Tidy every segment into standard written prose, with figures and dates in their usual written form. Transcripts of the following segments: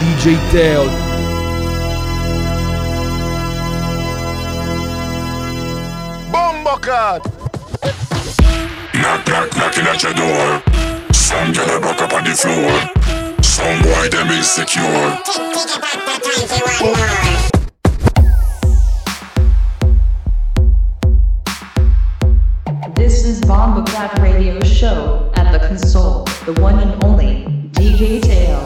DJ Teo. Bombocat. Knock, knock, knocking at your door. Some girl a buck up on the floor. Some boy them insecure. This is Bombocat Radio Show at the console, the one and only DJ Teo.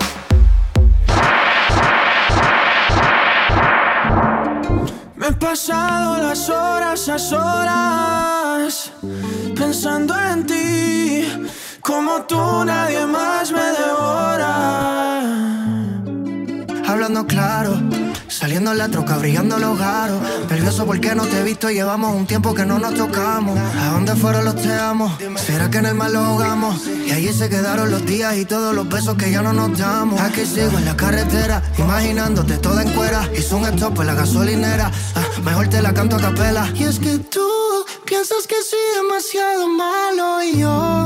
Me he pasado las horas a solas pensando en ti, como tú nadie más me devora. Hablando claro, saliendo en la troca, brillando los garos. Nervioso porque no te he visto, llevamos un tiempo que no nos tocamos. ¿A dónde fueron los te amo? ¿Será que en el mar los ahogamos? Y allí se quedaron los días y todos los besos que ya no nos damos. Aquí sigo en la carretera, imaginándote toda en cuera. Hice un stop en la gasolinera, mejor te la canto a capela. Y es que tú piensas que soy demasiado malo y yo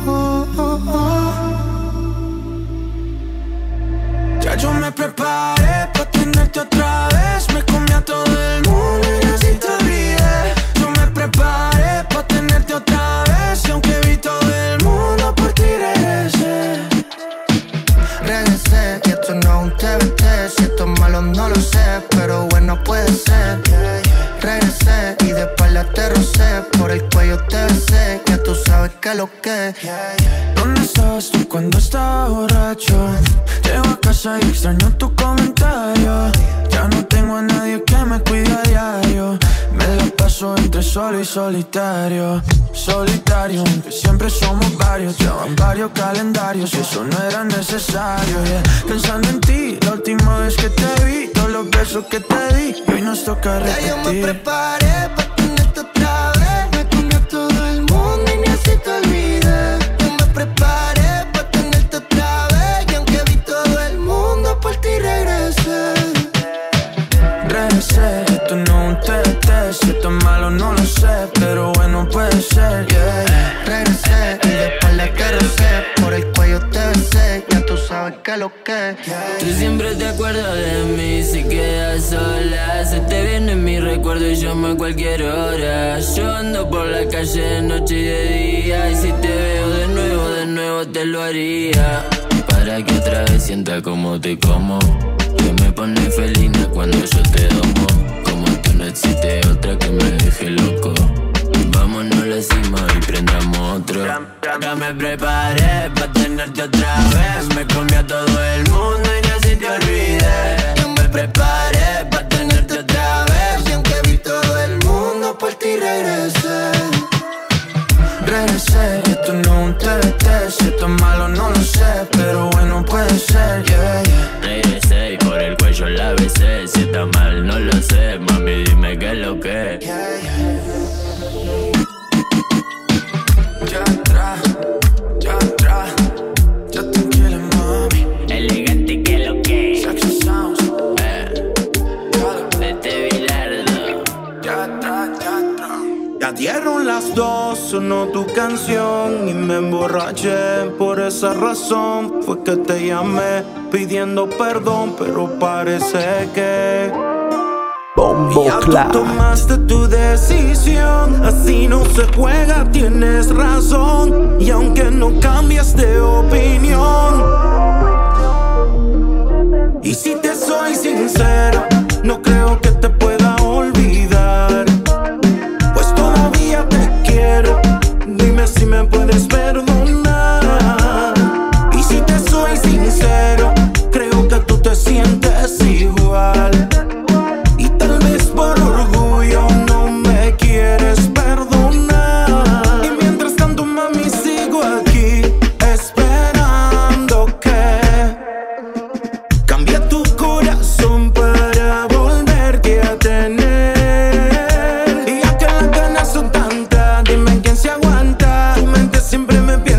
ya yo me preparé pa' tenerte otra vez. Me comí a todo el mundo y así te olvidé. Yo me preparé pa' tenerte otra vez. Y aunque vi todo el mundo por ti regresé. Regresé y esto no es un TBT. Si esto es malo no lo sé, pero bueno puede ser. Regresé y de espalda te rocé. Por el cuello te besé, ya tú sabes que es lo que. ¿Dónde estabas tú cuando estaba borracho? Llego a casa y extraño tu comentario. Ya no tengo a nadie que me cuide a diario. Me la paso entre solo y solitario. Solitario, aunque siempre somos varios. Ya van varios calendarios y eso no era necesario, yeah. Pensando en ti, la última vez que te vi, todos los besos que te di, y hoy nos toca repetir. Ya yo me preparé pa' tenerte otra vez. Me comí a todo el mundo y ni así te olvidé. Yo me preparé pa' tenerte otra vez. Y aunque vi todo el mundo por ti regresé. Regresé, esto no es un TT. Si esto es malo no lo sé, pero bueno puede ser, yeah. Regresé y de espalda te rocé. Por el cuello te besé, ya tú sabes que es lo que. Tú siempre te acuerdas de mí si quedas sola. Se te viene mi recuerdo y llamo a cualquier hora. Yo ando por la calle de noche y de día. Y si te veo de nuevo te lo haría. Para que otra vez sienta como te como. Que me pone felina cuando yo te domo. Como tú no existe otra que me deje loco. Vámonos a la cima y prendamos otro. Ya me preparé pa' tenerte otra vez. Me comí a todo el mundo y ni así te olvidé. Yo me preparé pa' tenerte otra vez. Y aunque vi todo el mundo por ti regresé. Regresé, esto no es un TBT. Si esto es malo no lo sé, pero bueno puede ser, yeah, yeah. Regresé y por el cuello la besé. Si está mal no lo sé, mami dime qué es lo que. Yeah, yeah. Ya tranquila mami. Elegante que lo que. Sexy sounds. Vete Bilardo. Ya dieron las 2, sonó tu canción y me emborraché. Por esa razón fue que te llamé pidiendo perdón, pero parece que ya tú tomaste tu decisión. Así no se juega, tienes razón. Y aunque no cambias de opinión, y si te soy sincero, no creo que te pueda olvidar. Pues todavía te quiero, dime si me puedes perdonar. Y si te soy sincero, creo que tú te sientes igual. Por orgullo no me quieres perdonar. Y mientras tanto mami sigo aquí esperando que cambie tu corazón para volverte a tener. Y ya que las ganas son tantas, dime quién se aguanta. Tu mente siempre me pierde.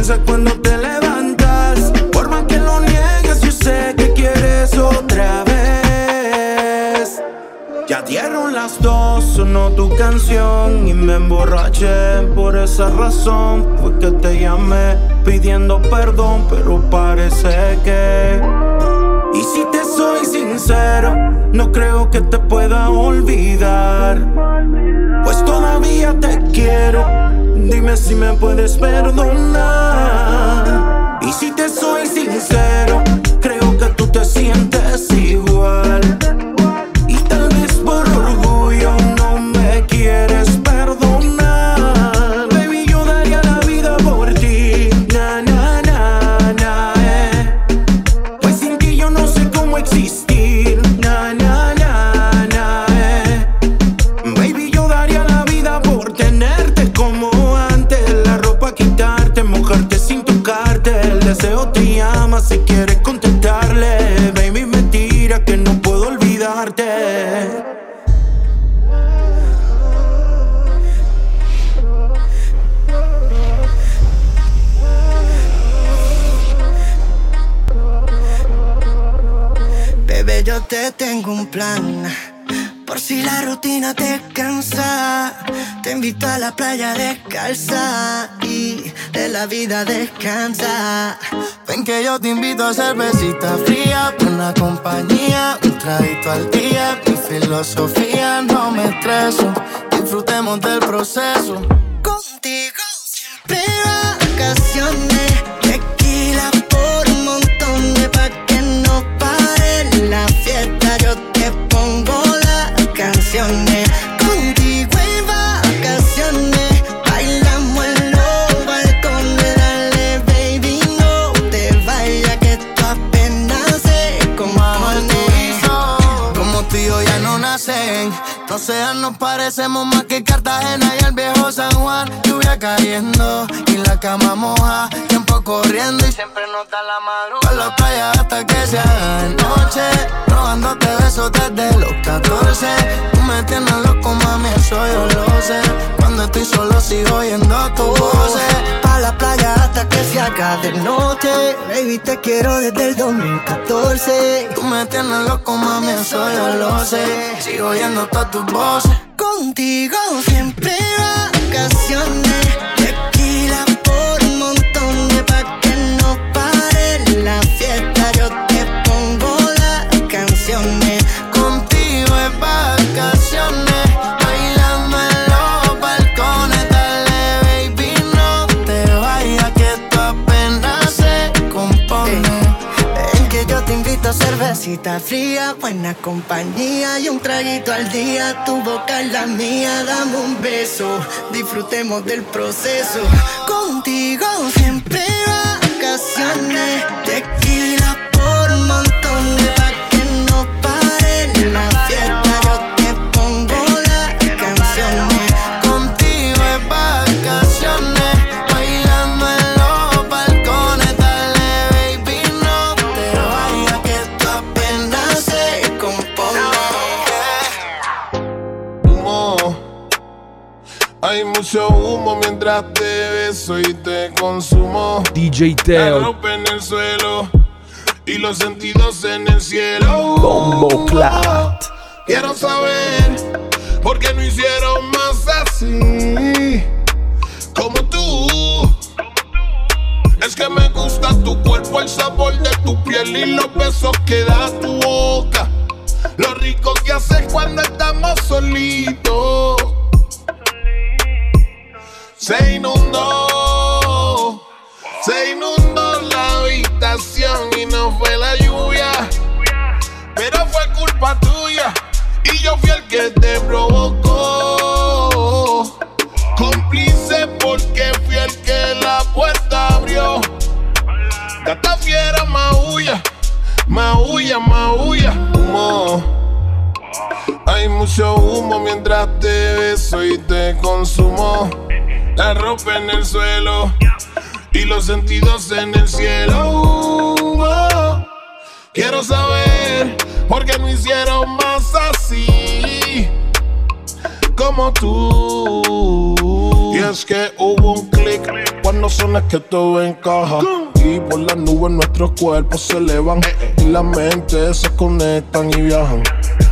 piensas cuando te levantas. Por más que lo niegues, yo sé que quieres otra vez. Ya dieron las 2, sonó tu canción y me emborraché. Por esa razón fue que te llamé pidiendo perdón, pero parece que... Y si te soy sincero, no creo que te pueda olvidar, pues todavía te quiero. Dime si me puedes perdonar. Y si te soy sincero, creo que tú te sientes igual. Y tal vez por orgullo no me quieres perdonar. Baby, yo daría la vida por ti. Na, na, na, na, Pues sin ti yo no sé cómo existir. Na, na, na, na, Baby, yo daría la vida por tenerte como antes. La ropa quitarte, mojarte sin tocarte. El deseo te llama si quieres contestarle. Baby, mentira que no puedo olvidarte. Bebé, yo te tengo un plan. Por si la rutina te cansa, te invito a la playa descalza y de la vida descansa. Ven que yo te invito a cervecita fría, buena compañía, un traguito al día. Mi filosofía, no me estreso, disfrutemos del proceso. Contigo siempre vacaciones, tequila por un montón de pa' que no pare la fiesta. Yo te pongo canciones, contigo en vacaciones, bailamos en los balcones. Dale, baby, no te vayas que esto apenas se compone. Como tú y yo ya no nacen, no sean, nos parecemos más que Cartagena y el viejo San Juan. Lluvia cayendo y la cama moja, tiempo corriendo y siempre nos da la madrugada. Por la playa hasta que se haga de noche, robándote besos desde los 14. Tú me tienes loco, mami, eso yo lo sé. Cuando estoy solo sigo oyendo tu voz. Pa' la playa hasta que se haga de noche, baby, te quiero desde el 2014. Tú me tienes loco, mami, eso yo lo sé. Sigo oyendo todas tus voces. Contigo siempre vacaciones, tequila por un montón de pa' que no pare la fiesta. Yo te pongo las canciones. Contigo es vacaciones, bailando en los balcones. Dale, baby, no te vayas que esto apenas se compone. Ven que yo te invito a cervecita fría, buena compañía y un traguito al día. Tu boca es la mía, dame un beso, disfrutemos del proceso. Contigo siempre vacaciones, tequila por un montón de pa' que no pare la fiesta. Yo te pongo las canciones. Contigo es vacaciones, bailando en los balcones. Dale, baby, no te vayas que esto apenas se compone. Humo, hay mucho humo mientras te beso y te consumo. DJ La Teo, ropa en el suelo y los sentidos en el cielo. Bombo Clat. Quiero saber por qué no hicieron más así como tú. Es que me gusta tu cuerpo, el sabor de tu piel y los besos que da tu boca. Lo rico que haces cuando estamos solitos. Se inundó la habitación y no fue la lluvia, pero fue culpa tuya y yo fui el que te provocó. Cómplice porque fui el que la puerta abrió. Gata fiera, maulla, maulla, maulla. Humo, hay mucho humo mientras te beso y te consumo. La ropa en el suelo y los sentidos en el cielo. Quiero saber por qué no hicieron más así como tú. Y es que hubo un clic cuando suena que todo encaja. Y por las nubes nuestros cuerpos se elevan y las mentes se conectan y viajan.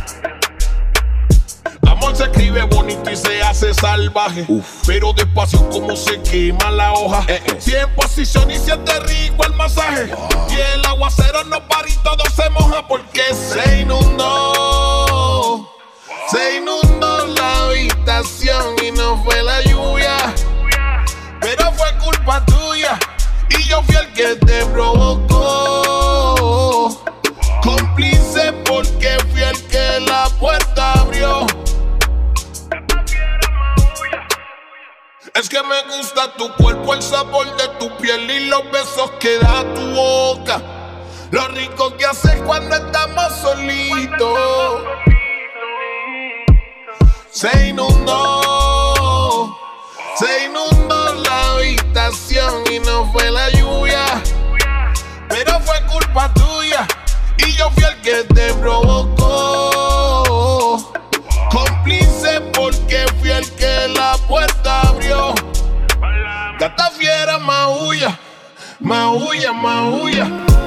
Amor se escribe bonito y se hace salvaje. Pero despacio como se quema la hoja. Si en posición y siente rico el masaje. Y el aguacero no para y todo se moja porque se inundó. Se inundó la habitación y no fue la lluvia, pero fue culpa tuya y yo fui el que te provocó. Cómplice porque fui el que la puerta abrió. Es que me gusta tu cuerpo, el sabor de tu piel y los besos que da tu boca. Lo rico que haces cuando estamos solitos. Se inundó la habitación y no fue la lluvia, pero fue culpa tuya y yo fui el que te provocó. Cómplice porque fui el que la puerta abrió. Gata fiera, maulla, maulla, maulla.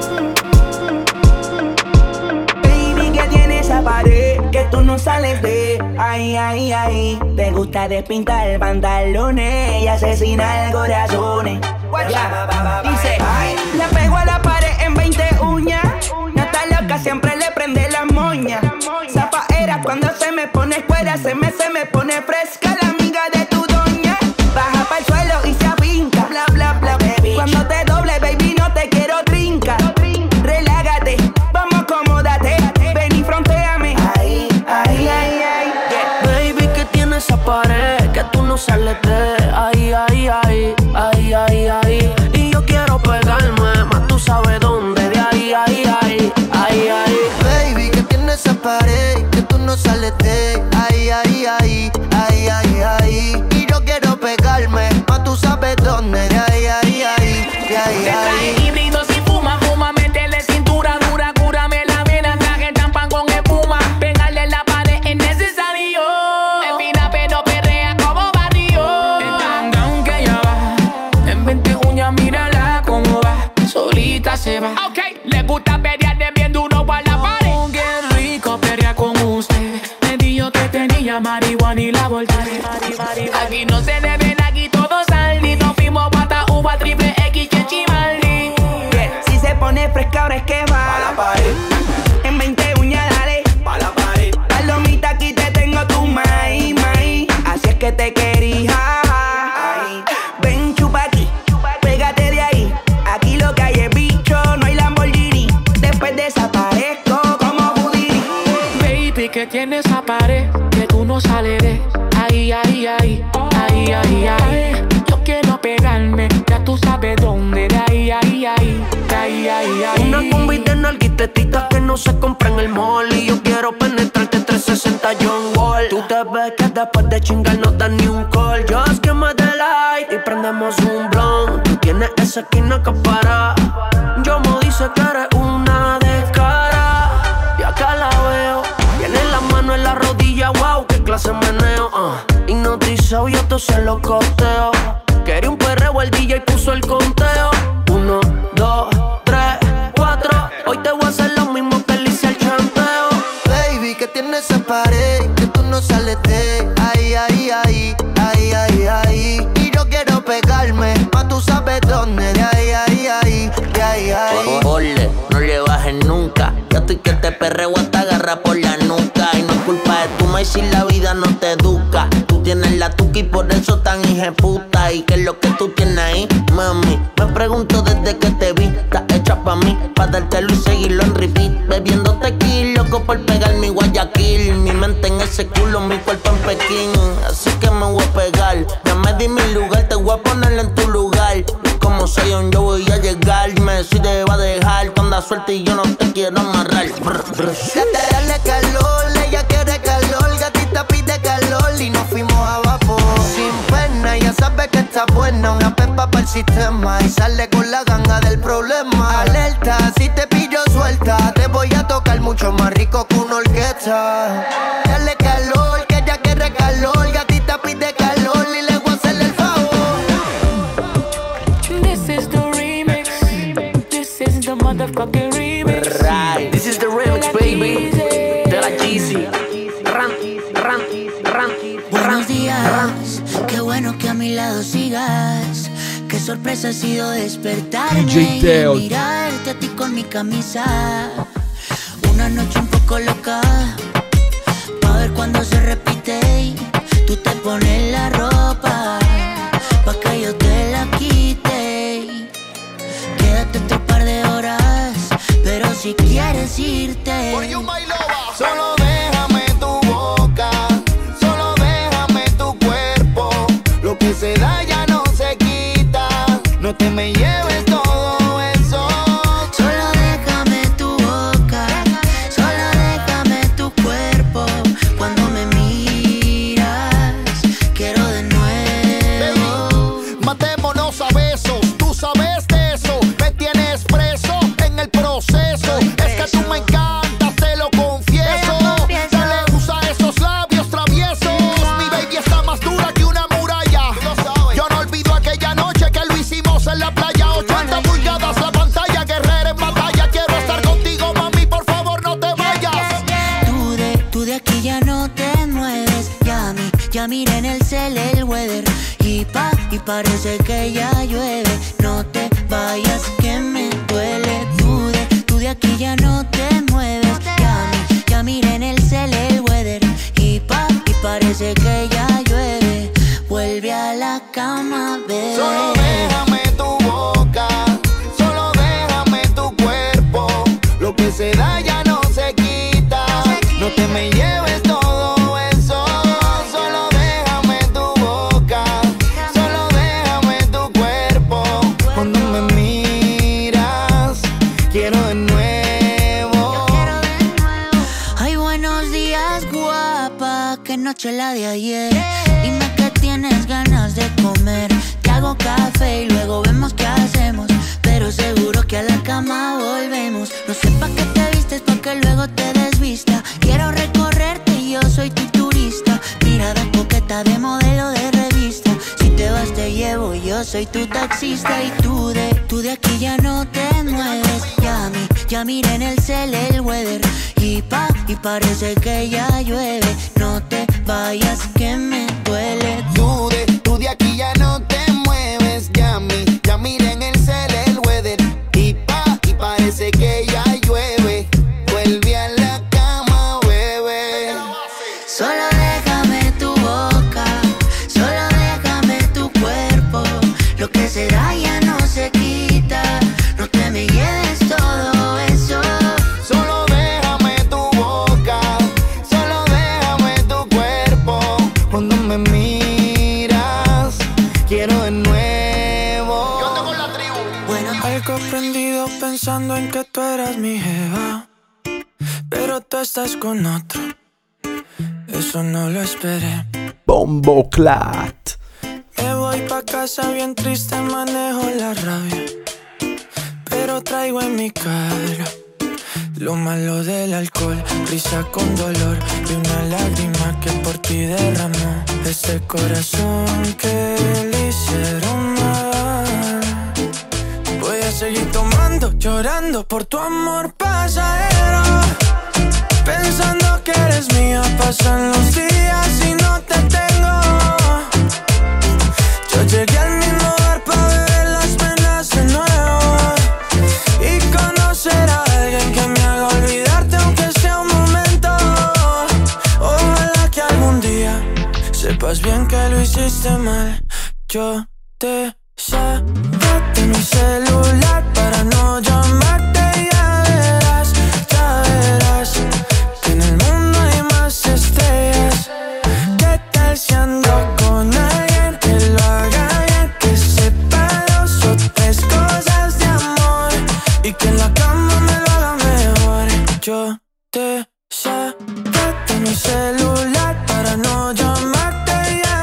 Baby, que tiene esa pared que tú no sales de ahí, ahí, ahí. Te gusta despintar pantalones y asesinar corazones. Dice, le pego a la pared en 20 uñas. No está loca, siempre le prende la moña. Zapaera cuando se me pone escuera, se me pone fresca la amiga de tu doña. Baja pa'l suelo y se afinca, bla, bla, bla, baby. Cuando te doble, baby, no te quiero trinca. Relágate, vamos, acomódate. Ven y frontéame. Ahí, ahí, ahí, ahí. Baby, que tiene esa pared que tú no sales de ahí, ahí, ahí, ahí, ahí, ahí. Y yo quiero pegarme, más tú sabes dónde. De ahí, ahí, ahí, ahí, ahí. Baby, que tiene esa pared que tú no sales de ahí, ahí, ahí, ahí, ahí, ahí. Y yo quiero pegarme, más tú sabes dónde. De ahí, ahí, ahí, de ahí, ahí. Híbrido si fuma, fuma, métele cintura dura, cúrame la vena, traje champán con espuma. Pegarle la pared es necesario. Espina pero perrea como barrio. El tangán que ya va, en 20 uñas mírala cómo va. Solita se va. Ok, le gusta pelear de bien duro para la pared. Oh, qué rico pelear con usted. Me dijo que tenía marihuana y la volteé. Aquí no se deben, aquí todos salen. Nos fuimos pata, uva, triple X, Chimaldi. Si se pone fresca ahora es que va. Pa' la pared. En 20 uñas dale. Pa' la pared. Palomita, aquí te tengo tu maíz, maíz. Así es que te quería. Ven, chupa aquí, pégate de ahí. Aquí lo que hay es bicho, no hay Lamborghini. Después desaparezco como Houdini. Baby, que tienes esa pared que tú no sales de ahí, ahí, ahí, ahí, ahí, ahí. Yo quiero pegarme, ya tú sabes dónde. De ahí, ahí, ahí, de ahí, ahí, ahí. Una combi de nalguitetitas que no se compra en el mall. Y yo quiero penetrarte 360 John Wall. Tú te ves que después de chingar no das ni un call. Just give me the light y prendemos un blunt. Tú tienes esa esquina que para. Yo me dice que eres una descara. Y acá la veo, tiene la mano en la rodilla. Wow, qué clase meneo. Hipnotizado yo te se lo costeo. Quería un perreo, el DJ puso el conteo. 1, 2, 3, 4. Hoy te voy a hacer lo mismo que le hice al chanteo. Baby, que tiene esa pared que tú no sales de ahí, ahí, ahí, ahí, ahí, ahí. Y yo quiero pegarme, más tú sabes dónde. De ahí, ahí, ahí, de ahí, ahí. Ole, no le bajes nunca. Yo estoy que te perreo hasta agarra por la nuca. Y no es culpa de tu maíz si la vida no te educa. Tú tienes la tuca y por eso tan hijeputa. ¿Y qué es lo que tú tienes ahí, mami? Me pregunto desde que te vi. Estás hecha pa' mí, pa' dártelo y seguirlo en repeat. Bebiendo tequila, loco por pegar mi Guayaquil. Mi mente en ese culo, mi cuerpo en Pekín. Así que me voy a pegar. Ya me di mi lugar, te voy a poner en tu lugar. Y como soy yo voy a llegar. Me decide va a dejar cuando suerte y yo no te quiero amarrar. Dale calor, ella quiere calor. Gatita pide calor y nos fuimos a vapor. Sin pena, ya sabe que está buena. Una pepa para el sistema y sale con la ganga del problema. Alerta, si te pillo suelta, te voy a tocar mucho más rico que una orquesta. Dale calor, que ella quiere calor. Gatita pide calor y le voy a hacer el favor. motherfucking remix. Right. This is the remix, baby. De la Jeezy. Buenos días, qué bueno que a mi lado sigas. Qué sorpresa ha sido despertarme y mirarte a ti con mi camisa. Una noche un poco loca, pa' ver cuando se repite y tú te pones la ropa, pa' que yo te la quite. Quédate otro par de horas, pero si quieres irte, solo déjame tu boca, solo déjame tu cuerpo. Lo que se da ya no se quita, no te me lleves todo eso. Solo déjame tu boca, solo déjame tu cuerpo. Cuando me miras, quiero de nuevo. Baby, matémonos a besos, tú sabes de eso. Me tienes preso en el proceso. Es que tú me encantas, te lo confieso. Dale, usa esos labios traviesos. Mi baby está más dura que una muralla. Yo no olvido aquella noche que lo hicimos en la playa. 80 pulgadas la pantalla, guerrera en batalla. Quiero estar contigo, mami, por favor no te vayas. Tú de aquí ya no te mueves. Ya miré en el cel el weather y parece que ya llueve. No te vayas que me duele. Tú de aquí ya no te mueves. Ya miré en el cel el weather y parece que ya llueve. Vuelve a la cama, bebé. Solo déjame tu boca, solo déjame tu cuerpo. Lo que se da ya no se quita, no te me lleves todo eso. Solo déjame tu boca, solo déjame tu cuerpo. Cuando me miras, quiero de nuevo. Ay, buenos días, guapa. Qué noche la de ayer. Dime que tienes ganas de comer. Te hago café y luego vemos qué hacemos. Pero seguro que a la cama volvemos. No sé pa' qué te vistes, pa' que luego te desvista. Quiero recorrerte y yo soy tu turista. Mirada coqueta de modelo de revista. Si te vas te llevo, yo soy tu taxista. Y tú de aquí ya no te mueves. Ya miré en el cel el weather y parece que ya llueve. No te vayas que me duele. Tú de aquí ya no te mueves. Ya miré en el cel el weather y parece que ya llueve. Vuelve a la cama, bebé. Solo déjame tu boca, solo déjame tu cuerpo. Lo que se da ya no se quita, no te me lleves todo eso. Solo déjame tu boca, solo déjame tu cuerpo. Cuando me miras, quiero de nuevo. Yo ando con la tribu. Bueno, algo prendido pensando en que tú eras mi jeva, pero tú estás con otro. Eso no lo esperé. Bomboclat. Me voy pa' casa bien triste, manejo la rabia, pero traigo en mi cara lo malo del alcohol, risa con dolor y una lágrima que por ti derramó este corazón que le hicieron mal. Voy a seguir tomando, llorando por tu amor pasajero, pensando que eres mía. Pasan los días y no te tengo. Yo llegué al mismo bar pa' beber las penas de nuevo y conocer a alguien que me haga olvidarte aunque sea un momento. Ojalá que algún día sepas bien que lo hiciste mal. Yo te saqué de mi celular para no llamarte. Ya verás que en el mundo hay más estrellas. ¿Qué tal si ando con alguien que lo haga bien, que sepa 2 o 3 cosas de amor y que en la cama me lo haga mejor? Yo te saqué de mi celular para no llamarte.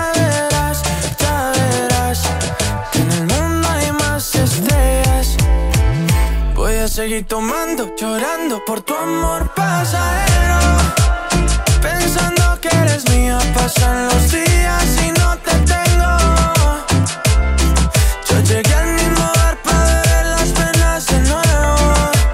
Ya verás que en el mundo hay más estrellas. Voy a seguir tomando, llorando por tu amor pasajero, pensando que eres mía. Pasan los días y no te tengo. Yo llegué al mismo bar pa' beber las penas de nuevo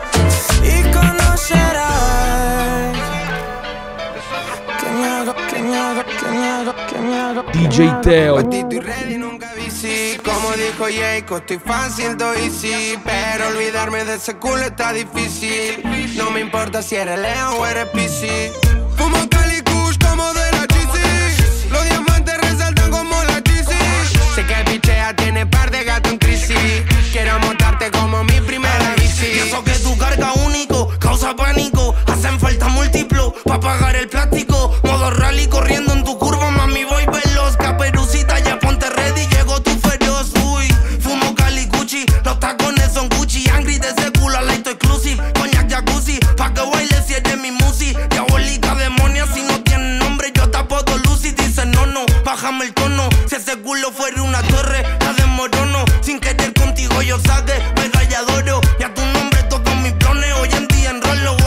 DJ Teo. Estoy ready, nunca bici. Como dijo Jacob, estoy fácil, do easy. Pero olvidarme de ese culo está difícil. No me importa si eres Leo o eres PC. Fumo Cali Kush como de la GC. Los diamantes resaltan como la GC. Sé que pichea tiene par de gato en crisis. Quiero montarte como mi primera bici. Y eso que tu carga único causa pánico. Hacen falta múltiplos pa' pagar el plástico. Modo rally corriendo en tu curva, mami, voy veloz. Caperucita, ya ponte ready, llegó tu feroz. Uy, fumo Cali Gucci, los tacones son Gucci. Angry de ese culo, light exclusive. Coñac jacuzzi, pa' que baile si eres mi musi. Diabólica demonia, si no tiene nombre, yo te apodo Lucy. Dice no, bájame el tono. Si ese culo fuera una torre, la desmorono. Sin querer contigo yo saqué medalla de oro. Ya tu nombre toca mis planes, hoy en día enrollo.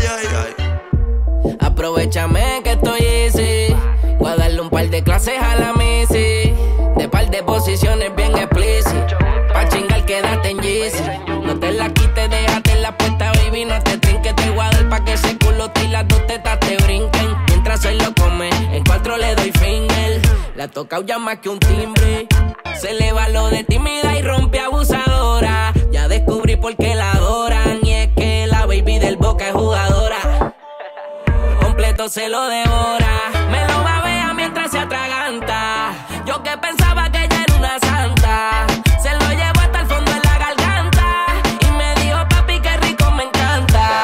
Aprovechame que estoy easy. Voy a darle un par de clases a la Missy. De par de posiciones bien explícitas. Pa' chingar quédate en Yeezy. No te la quites, déjate la puesta, baby. No te trinques, te voy a dar pa' que ese culo y las dos tetas te brinquen. Mientras él lo come, en 4 le doy finger. La ha tocado ya más que un timbre. Se le va lo de tímida y rompe abusadora. Ya descubrí por qué la adoran. Y es que la baby del Boca es jugadora. Completo se lo devora. Me lo babea mientras se atraganta. Yo que pensaba que ella era una santa. Se lo llevo hasta el fondo de la garganta. Y me dijo papi que rico me encanta.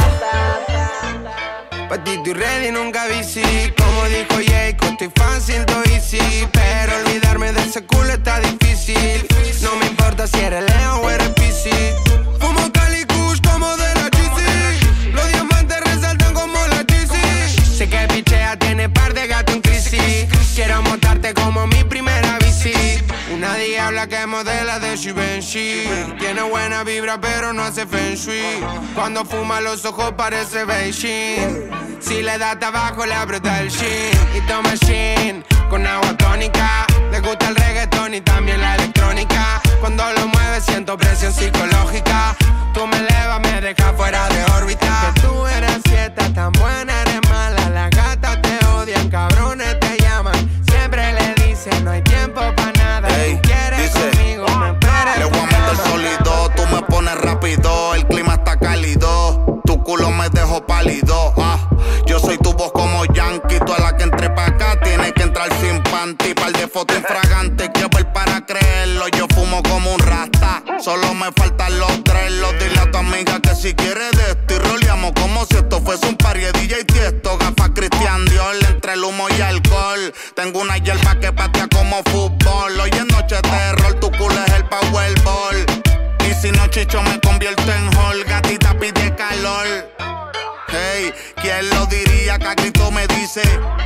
Pa' ti estoy ready, nunca bici. Como dijo Jacob, estoy fácil, do easy. Pero olvidarme de ese culo está difícil. No me importa si eres Leo o eres PC. Fumo Cali Kush como de la GC. Los diamantes resaltan como la GC. Sé que pichea tiene par de gato en crisis. Quiero montarte como mi primera bici. Una diabla que modela de Givenchy. Tiene buena vibra pero no hace feng shui. Cuando fuma los ojos parece Beijing. Si le da tabaco le aprieta el shin. Y toma shin con agua tónica. Le gusta el reggaetón y también la electrónica. Cuando lo mueve siento presión psicológica. Tú me elevas, me dejas fuera de órbita. Que tú eres fiesta, tan buena, eres mala. Las gatas te odian, cabrones te llaman. Siempre le dicen no hay tiempo pa' nada. Ey, tú quieres dice, conmigo, me esperas. le voy a meter sólido, tú me pones rápido. El clima está cálido, tu culo me dejó pálido. Yo soy tu voz como Yankee. Tú a la que entre pa' acá tienes que entrar sin panty. Par de fotos infragantes, quiero ver para creerlo. Yo fumo como un rasta, solo me faltan los dreadlocks. Dile a tu amiga que si quiere de esto y roleamos como si esto fuese un party de DJ Tiesto. Gafas Christian Dior, entre el humo y alcohol. Tengo una hierba que patea como fútbol. Hoy es noche de terror, tu culo es el Powerball. Y si no chicho me convierto en Hall. Gatita pide calor. Hey, ¿quién lo diría que a grito me dice?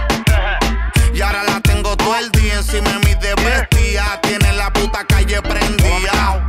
Y ahora la tengo todo el día encima de mi de bestia. Tiene la puta calle prendida.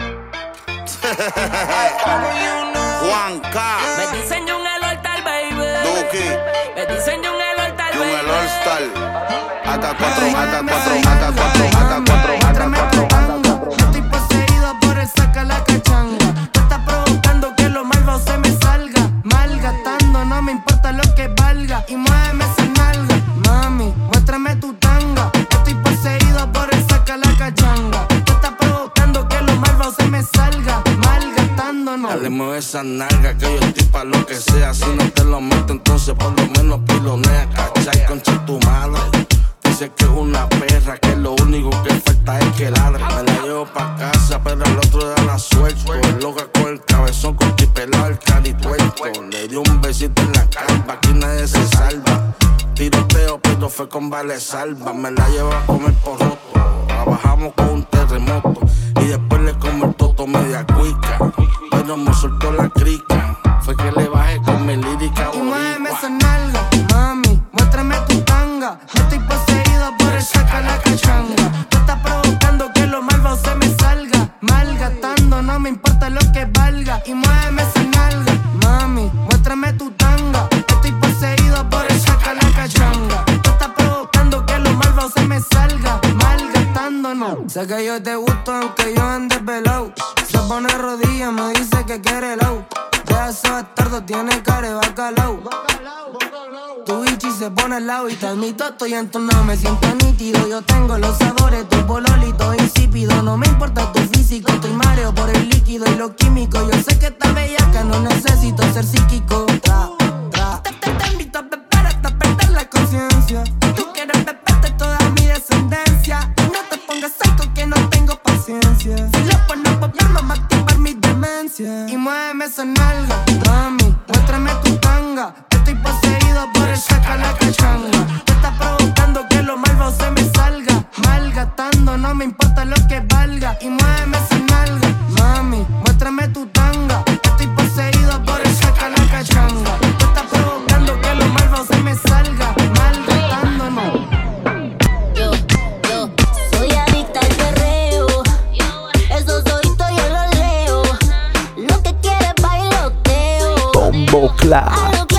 Juan K. Me dicen yo un el All-Star, baby. Duki. Me dicen yo un el All-Star, Yo baby. el All-Star. AK4, AK4, AK4, AK4, AK4. Yo estoy poseído por el saca la cachanga. Tú estás provocando que lo malvado se me salga. Malgastando, no me importa lo que valga. Y muéveme esa nalga, mami, muéstrame tu tanga. Yo estoy poseído por el saca la cachanga. Tú estás provocando que lo malvado se me salga. Malgastando, no. Dale, mueve esa nalga que yo estoy pa' lo que sea. Si no te lo meto, entonces por lo menos pilonea. Cachai, concha tu madre. Dice que es una perra, que lo único que falta es que ladre. Me la llevo pa' casa, pero al otro da la suelto. Loca con el cabezón, con chipelado, el carituerto. Le dio un besito en la calva, aquí nadie se salva. Tiroteo, pero fue con vale salva. Me la llevo a comer por roto. Trabajamos con un terremoto. Y después le como el toto media cuica. Pero me soltó la crica. Fue que le bajé con mi lírica. Y muéveme esa nalga, mami, muéstrame tu tanga. Yo estoy poseído por el saca la cachanga. Tú estás provocando que lo malvado se me salga. Malgastando, no me importa lo que valga. Y muéveme esa nalga, mami, muéstrame tu tanga. Yo estoy poseído por el saca la cachanga. Tú estás provocando que lo malvado se me salga. Malgastando, no. Sé que yo te gusto aunque yo ande pelado. Se pone rodillas, me dice que quiere helado. pedazo de bastardo tiene cara de bacalao. Tu bichi se pone al lado y te admito, estoy entonado, me siento nítido. Yo tengo los sabores, tu pololito insípido. No me importa tu físico, estoy mareo por el líquido y lo químico. Yo sé que estás bellaca, no necesito ser psíquico. Te invito a beber hasta perder la conciencia. Tú quieres beberte toda mi descendencia. No te pongas seco que no tengo paciencia. Si lo pones popular no va a activar mi demencia. Y muéveme esa nalga, mami, muéstrame tu tanga. Estoy poseído por el saca la cachanga. Te está provocando que lo malvado se me salga. Malgatando, no me importa lo que valga. Y muéveme esa nalga, mami, muéstrame tu tanga. Estoy poseído por el saca la cachanga. Te está provocando que lo malvado se me salga. Malgatando, no. Yo soy adicta al perreo. Esos ojitos yo los leo. Lo que quiere bailoteo. Bombo Clat.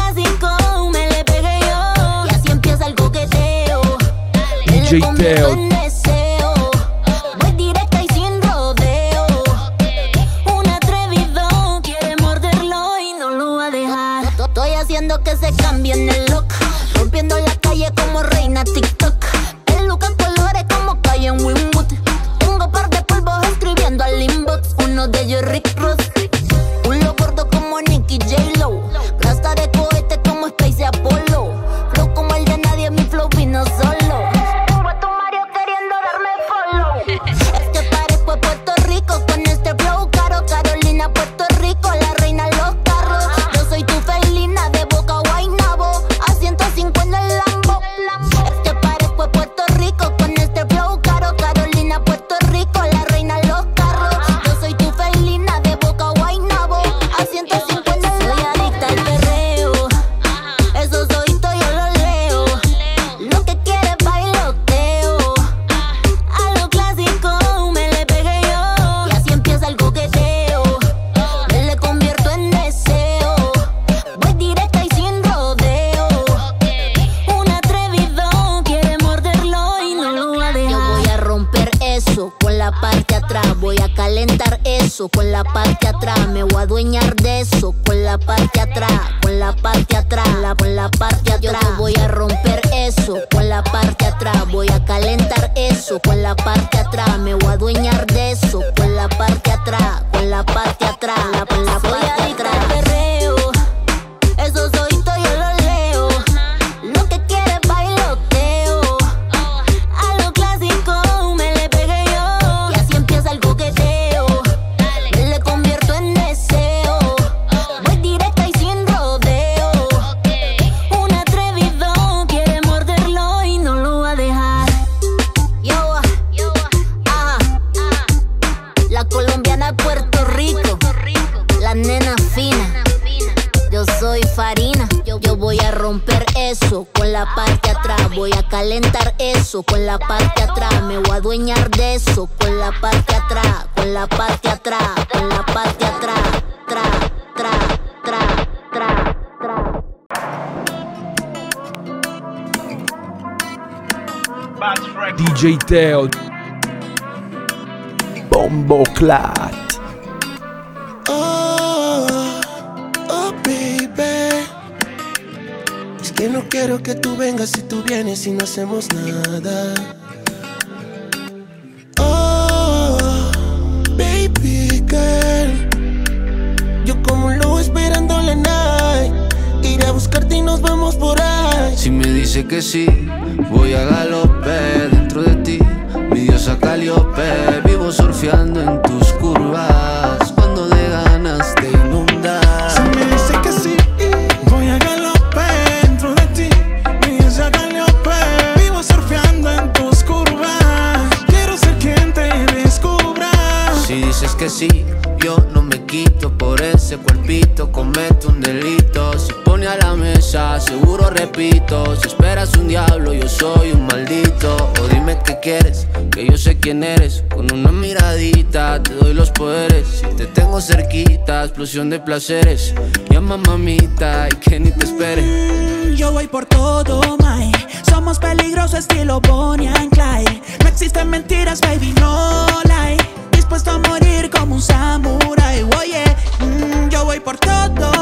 DJ Teo. Voy directa y sin rodeo. Un atrevido quiere morderlo y no lo va a dejar. Estoy haciendo que se cambie en el look. Rompiendo la calle como reina TikTok. El look en colores como calle en Winwood. Tengo par de polvos escribiendo al inbox. Uno de ellos Rick Ross. Uno gordo como Nicky J-Lo. Plasta de cohete como Space Apollo. Flow como el de nadie, mi flow vino solo. Con la parte atrás, me voy a adueñar de eso. Con la parte atrás, con la parte atrás, con la parte atrás. Yo te voy a romper eso. Con la parte atrás, voy a calentar eso. Con la parte atrás, me voy a adueñar de eso. Con la parte atrás, con la parte atrás, con la parte atrás. Perreo, esos ojitos yo los leo. Lo que quiere bailoteo. A lo clásico me le pegué yo. Y así empieza el coqueteo. Con la parte atrás, voy a calentar eso. Con la parte atrás, me voy a adueñar de eso. Con la parte atrás, con la parte atrás, con la parte atrás. DJ Teo. Bombo Clat. Que no quiero que tú vengas si tú vienes y no hacemos nada. Oh, baby girl. Yo como un lobo esperando la night. Iré a buscarte y nos vamos por ahí. Si me dice que sí, voy a galope dentro de ti. Mi diosa Caliope, vivo surfeando en tus curvas. Cuando de ganas te inundas. Si me dice que sí, voy a galope. Vivo surfeando en tus curvas. Quiero ser quien te descubra. Si dices que sí, yo no me quito. Por ese cuerpito comete un delito. Si pone a la mesa, seguro repito. Si esperas un diablo, yo soy un maldito. O dime qué quieres, que yo sé quién eres. Con una miradita te doy los poderes. Si te tengo cerquita, explosión de placeres. Llama mamita y que ni te espere. Yo voy por todo, my. Somos peligrosos estilo Bonnie and Clyde. No existen mentiras, baby, no lie. Dispuesto a morir como un samurái, oye. Yo voy por todo,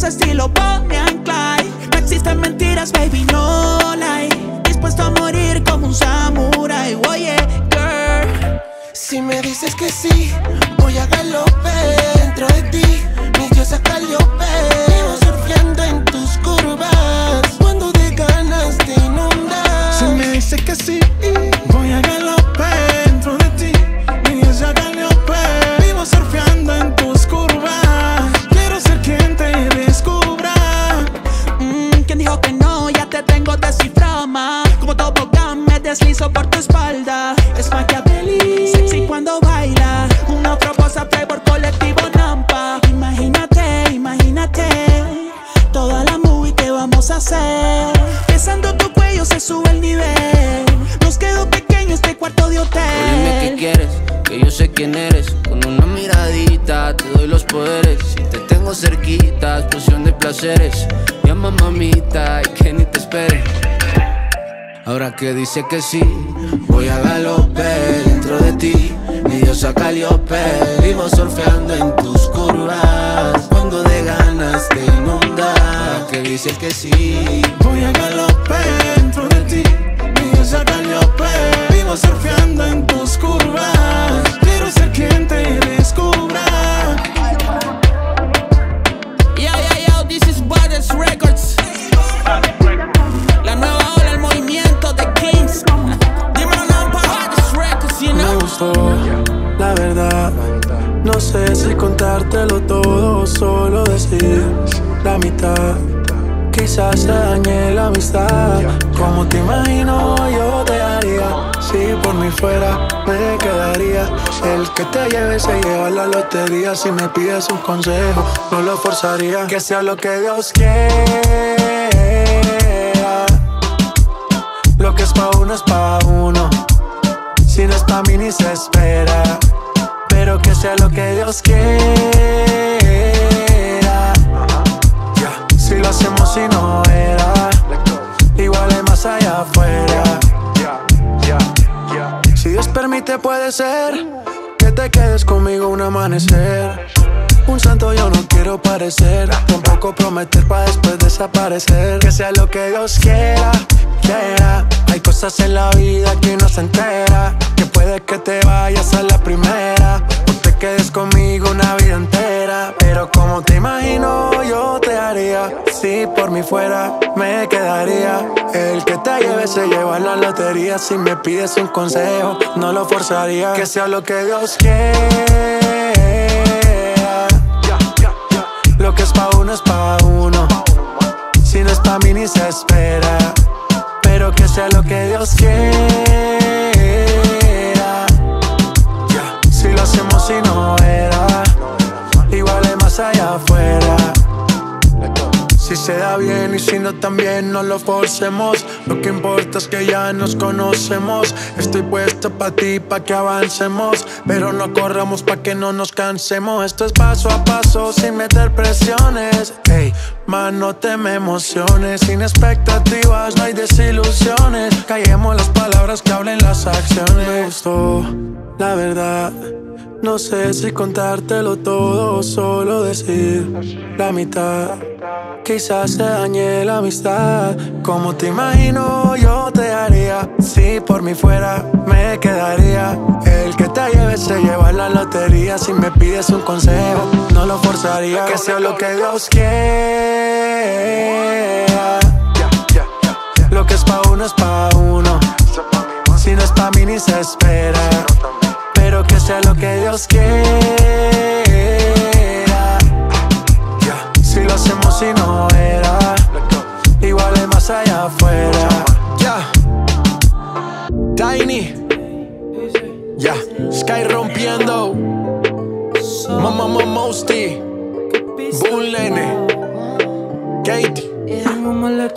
peligroso estilo Bonnie and Clyde. No existen mentiras, baby, no lie. Dispuesto a morir como un samurái. Oye, girl, si me dices que sí, voy a galope dentro de ti. Mi diosa Calliope, vivo surfeando en tus curvas. Cuando de ganas te inundas. Si me dices que sí, voy a galope dentro de ti. Mi diosa Calliope, vivo surfeando en tus curvas. Quiero ser quien te descubra. ¿Quién dijo que no? Ya te tengo descifrado, ma. Como tobogán me deslizo por tu espalda. Es Machiavelli, sexy cuando baila. Una proposta Playboy colectivo Nampa. Imagínate, imagínate toda la movie que vamos a hacer. Besando tu cuello se sube el nivel. Nos quedó pequeño este cuarto de hotel. Dime qué quieres, que yo sé quién eres. Con una miradita te doy los poderes. Si te tengo cerquita, explosión de placeres. Llama mamita y que ni te espere. Ahora que dice que sí, voy a galope dentro de ti. Mi diosa Calliope, vivo surfeando en tus curvas. Cuando de ganas te inunda. Ahora que dice que sí, voy a galope dentro de ti. Mi diosa Calliope, vivo surfeando en tus curvas. Quiero ser quien te descubra. Yo, this is Brothers Records. La nueva ola, el movimiento de Kings. Dímelo now, Brothers Records, you know. Me gustó, la verdad. No sé si contártelo todo o solo decir la mitad. Quizás te dañé la amistad. Como te imagino yo te haría. Si por mí fuera me quedaría. El que te lleve se lleva la lotería. Si me pides un consejo no lo forzaría. Que sea lo que Dios quiera. Lo que es pa' uno es pa' uno. Si no es pa' mí ni se espera. Pero que sea lo que Dios quiera. Si lo hacemos y no era, igual hay más allá afuera. Si Dios permite puede ser que te quedes conmigo un amanecer. Un santo yo no quiero parecer, tampoco prometer pa' después desaparecer. Que sea lo que Dios quiera, quiera. Hay cosas en la vida que no se entera. Que puede que te vayas a la primera o te quedes conmigo una vida entera. Pero como te imagino yo te haría. Si por mí fuera me quedaría. El que te lleve se lleva la lotería. Si me pides un consejo no lo forzaría. Que sea lo que Dios quiera. Lo que es pa' uno es pa' uno. Si no es pa' mí ni se espera. Pero que sea lo que Dios quiera. Si lo hacemos y no era, igual hay más allá afuera. Si se da bien y si no también no lo forcemos. Lo que importa es que ya nos conocemos. Estoy puesto pa' ti, pa' que avancemos. Pero no corramos pa' que no nos cansemos. Esto es paso a paso, sin meter presiones. Ey, man, no te me emociones. Sin expectativas, no hay desilusiones. Callemos las palabras que hablen las acciones. Me gustó, la verdad. No sé si contártelo todo o solo decir la mitad. Quizás te dañé la amistad. Como te imagino yo te haría. Si por mí fuera me quedaría. El que te lleve se lleva la lotería. Si me pides un consejo no lo forzaría. Que sea lo que Dios quiera. Lo que es pa' uno es pa' uno. Si no es pa' mí ni se espera. Pero que sea lo que Dios quiera. Si lo hacemos y no era, igual hay más allá afuera. Tiny, Sky rompiendo. Mamá Mosty, Bull Nene, Katie. Tengo más letras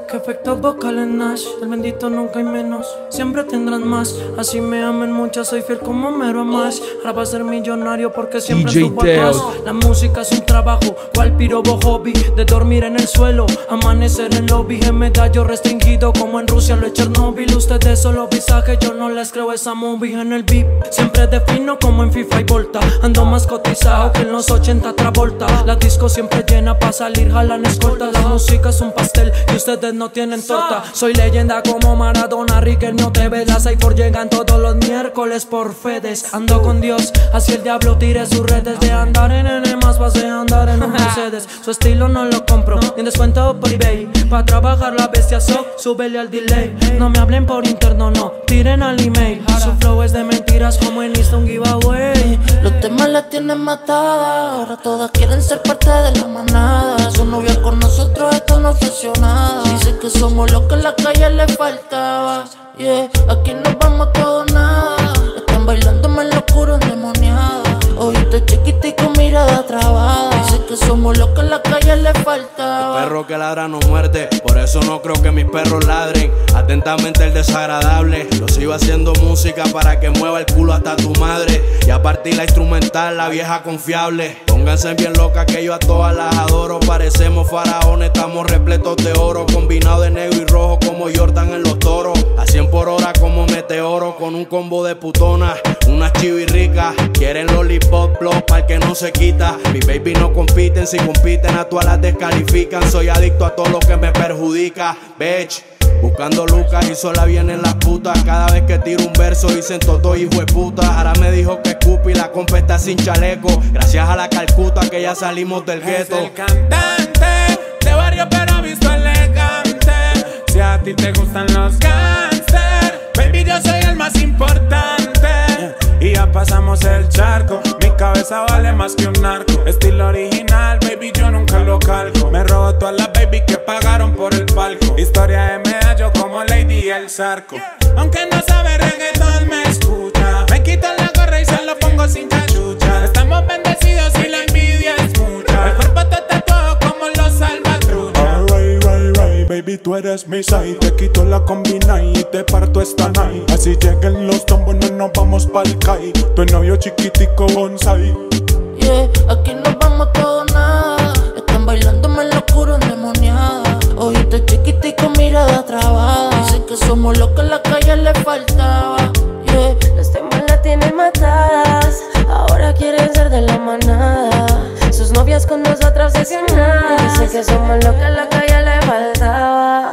Que efectos vocales Nash, del bendito nunca hay menos. Siempre tendrán más, así me amen muchas. Soy fiel como Mero Mash. Ahora va a ser millonario porque siempre DJ subo atrás. La música es un trabajo, cual pirobo hobby. De dormir en el suelo, amanecer en lobby. En medallo restringido como en Rusia lo es Chernobyl. Ustedes solo visaje, yo no les creo esa movie. En el beat siempre defino como en FIFA y Volta. Ando más cotizado que en los 80 Travolta. La disco siempre llena pa' salir, jalan escolta. La música es un pastel y ustedes no tienen torta. Soy leyenda como Maradona, Riquelme, TV. Las iPhone llegan todos los miércoles por Fedes. Ando con Dios, así el diablo tire sus redes. De andar en N más pasé a andar en un Mercedes. Su estilo no lo compro, ni descuento por eBay. Pa' trabajar la bestia súbele al delay. No me hablen por interno, no, tiren al email. Su flow es de mentiras como en Insta un giveaway. Los temas la tienen matada, ahora todas quieren ser parte de la manada. Su novia con nosotros, esto no ofreció nada. Dice que somos lo que en la calle le faltaba. Yeah, aquí nos vamos todos nada. Están bailándome en lo oscuro endemoniada. Ojito chiquito y con mirada trabada. Dice que somos lo que en la calle le faltaba. El perro que ladra no muerde, por eso no creo que mis perros ladren. Atentamente el desagradable. Yo sigo haciendo música para que mueva el culo hasta tu madre. Y a partir la instrumental, la vieja confiable. Pónganse bien locas que yo a todas las adoro. Parecemos faraones, estamos repletos de oro. Combinado de negro y rojo como Jordan en los toros. A 100 por hora como meteoro. Con un combo de putonas, unas chivirricas. Quieren lollipop, plop, pa'l que no se quita. Mi baby no compiten, si compiten a todas las descalifican. Soy adicto a todo lo que me perjudica, bitch. Buscando lucas y sola vienen las putas. Cada vez que tiro un verso dicen todo hijo de puta. Ahora me dijo que Scoopy la compa está sin chaleco. Gracias a la Calcuta que ya salimos del gueto. Es el cantante de barrio pero visto elegante. Si a ti te gustan los gangsters, baby yo soy el más importante. Y ya pasamos el charco, mi cabeza vale más que un narco. Estilo original, baby, yo nunca lo calco. Me robo todas las baby que pagaron por el palco. Historia de medallo como Lady y el Zarco. Aunque no sabe reggaetón, me escucha. Me quito la gorra y se lo pongo sin cachucha. Estamos bendecidos y la envidia es mucha. El cuerpo está tatuado como los salvatrucha. Right, baby, tú eres mi side. Te quito la combina y te parto esta night. Así lleguen los tombos, no nos vamos pa'l Kai. Tu novio chiquitico bonsai. Yeah, aquí nos vamos todos nada. Están bailándome en lo oscuro endemoniada. Ojito chiquito y con mirada trabada. Dicen que somos lo que en la calle le faltaba. Yeah, los temas la tienen matadas. Ahora quieren ser de la manada. Sus novias con nosotros obsesionadas. Dicen que somos lo que en la calle le faltaba.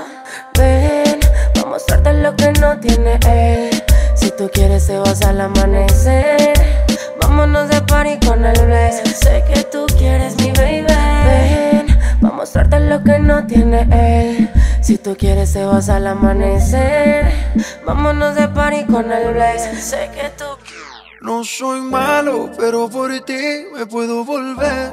Ven, voy a mostrarte lo que no tiene él. Si tú quieres te vas al amanecer. Vámonos de party con el Blaze. Sé que tú quieres mi baby. Ven, voy a mostrarte lo que no tiene él. Si tú quieres te vas al amanecer. Vámonos de party con el Blaze. Sé que tú quieres. No soy malo, pero por ti me puedo volver.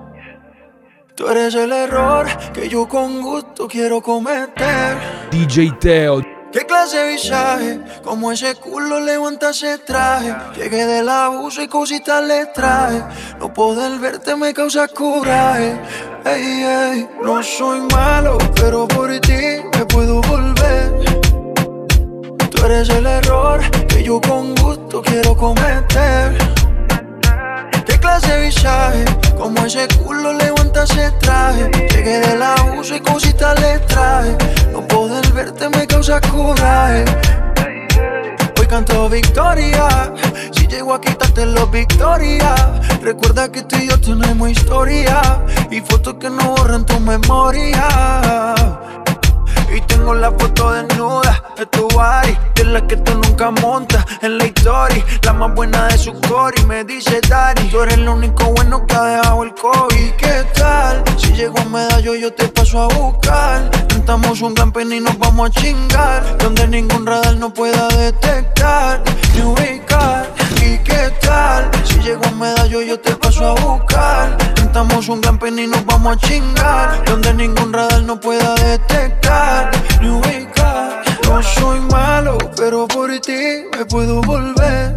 Tú eres el error que yo con gusto quiero cometer. DJ Teo. ¿Qué clase de visaje? Como ese culo levanta ese traje. Llegué del abuso y cositas le traje. No poder verte me causa coraje. Ey, ey, no soy malo, pero por ti me puedo volver. Tú eres el error que yo con gusto quiero cometer. ¿Qué clase de visaje? Como ese culo levanta ese traje. Llegué del abuso y cositas le traje. No poder verte me causa coraje. Hoy canto victoria. Si llego a quitarte los victorias. Recuerda que tú y yo tenemos historia. Y fotos que no borran tu memoria. Y tengo la foto desnuda de tu body, de la que tú nunca montas en la story. La más buena de su core. Me dice Daddy, tú eres lo único bueno que ha dejado el COVID. ¿Qué tal? Si llego a medallo yo te paso a buscar. Cantamos un camping y nos vamos a chingar. Donde ningún radar no pueda detectar ni ubicar. ¿Y qué tal? Si llego a medallo yo te paso a buscar. Cantamos un camping y nos vamos a chingar. Donde ningún radar no pueda detectar ni ubicar. No soy malo, pero por ti me puedo volver.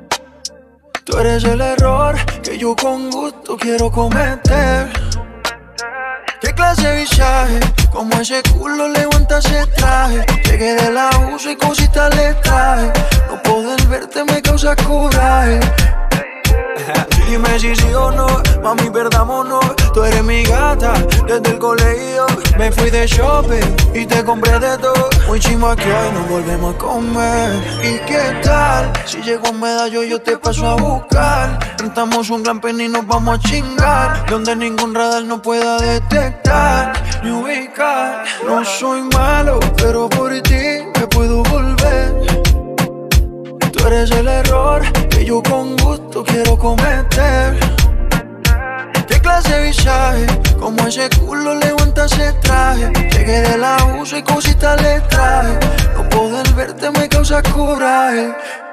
Tú eres el error que yo con gusto quiero cometer. ¿Qué clase de visaje? Como ese culo levanta ese traje. Llegué de la USA y cositas le traje. No poder verte me causa coraje. Dime si sí o no, mami, perdámonos. Tú eres mi gata desde el colegio. Me fui de shopping y te compré de todo. Muy chimba que hoy nos volvemos a comer. ¿Y qué tal? Si llego a Medallo yo te paso a buscar. Rentamos un gran pen y nos vamos a chingar. Donde ningún radar no pueda detectar ni ubicar. No soy malo, pero por ti me puedo volver. Tú eres el error que yo con gusto quiero cometer. ¿Qué clase de visaje? Como ese culo levanta ese traje. Llegué de la USA y cositas le traje. No poder verte me causa coraje.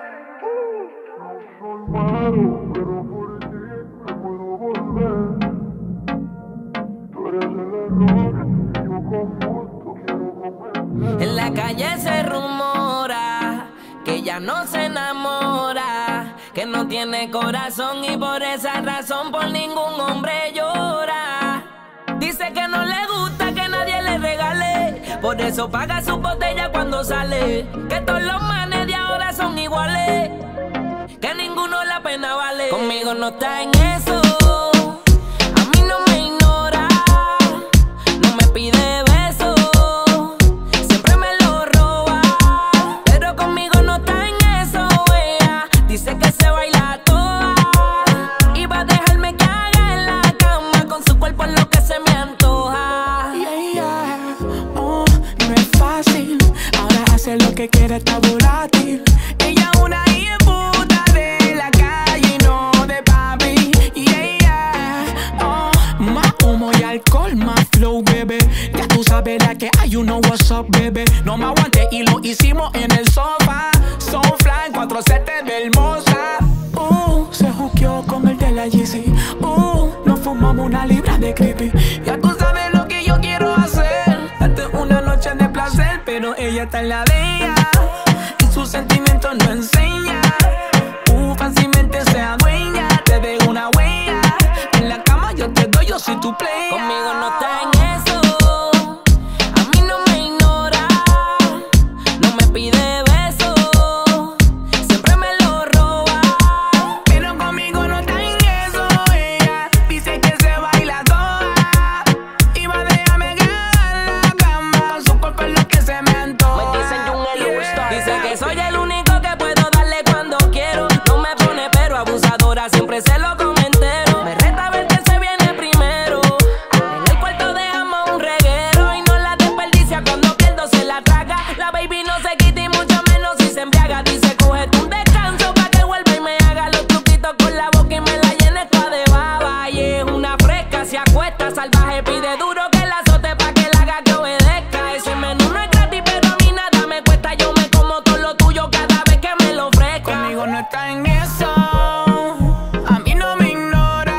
En la calle se rumora que ella no se enamora, que no tiene corazón y por esa razón por ningún hombre llora. Dice que no le gusta que nadie le regale, por eso paga su botella cuando sale. Que todos los manes de ahora son iguales, que ninguno la pena vale. Conmigo no está en eso, a mí no me ignora, no me pide besos, siempre me lo roba. Pero conmigo no está en eso, ella dice que se baila toda y va a dejarme que haga en la cama con su cuerpo lo que se me antoja. Oh, no es fácil, ahora hace lo que quiere, está volátil. Ella una puta de la calle y no de papi. Oh, más humo y alcohol, más flow, bebé. Ya tú sabes la que hay, you know what's up, bebé. No me aguanté y lo hicimos en el sofá. Soulfly, 4 setes de hermosa. Se juqueó con el de la Yeezy. Nos fumamos una libra de creepy. Ya tú sabes lo que yo quiero hacer, darte una noche de placer, pero ella está en la de ella y sus sentimientos no enseña. Fácilmente se adueña, te dejo una huella. En la cama yo te doy, yo soy tu play. Conmigo no está en eso, a mí no me ignora, no me pide besos, siempre me lo roba. Pero conmigo no está en eso, ella dice que se baila toda y va a dejarme quedar en la cama. Su cuerpo es lo que se me antoja. Me dicen Jungel All-Star. Dice que soy el único que puedo darle cuando quiero. No me pone pero abusadora, siempre se lo come entero. Me reta a ver que se viene primero. En el cuarto dejamos un reguero y no la desperdicia, cuando pierdo se la traga. La baby no se quita y mucho menos si se embriaga. Dice cógete un descanso pa' que vuelva y me haga los truquitos con la boca y me la llene toda de baba. Y es una fresca, se acuesta salvaje, pide duro que la azote pa' que la haga que obedezca. Ese menú no es gratis pero a mí nada me cuesta. Yo me como todo lo tuyo cada vez que me lo ofrezca. Conmigo no está en eso, a mí no me ignora,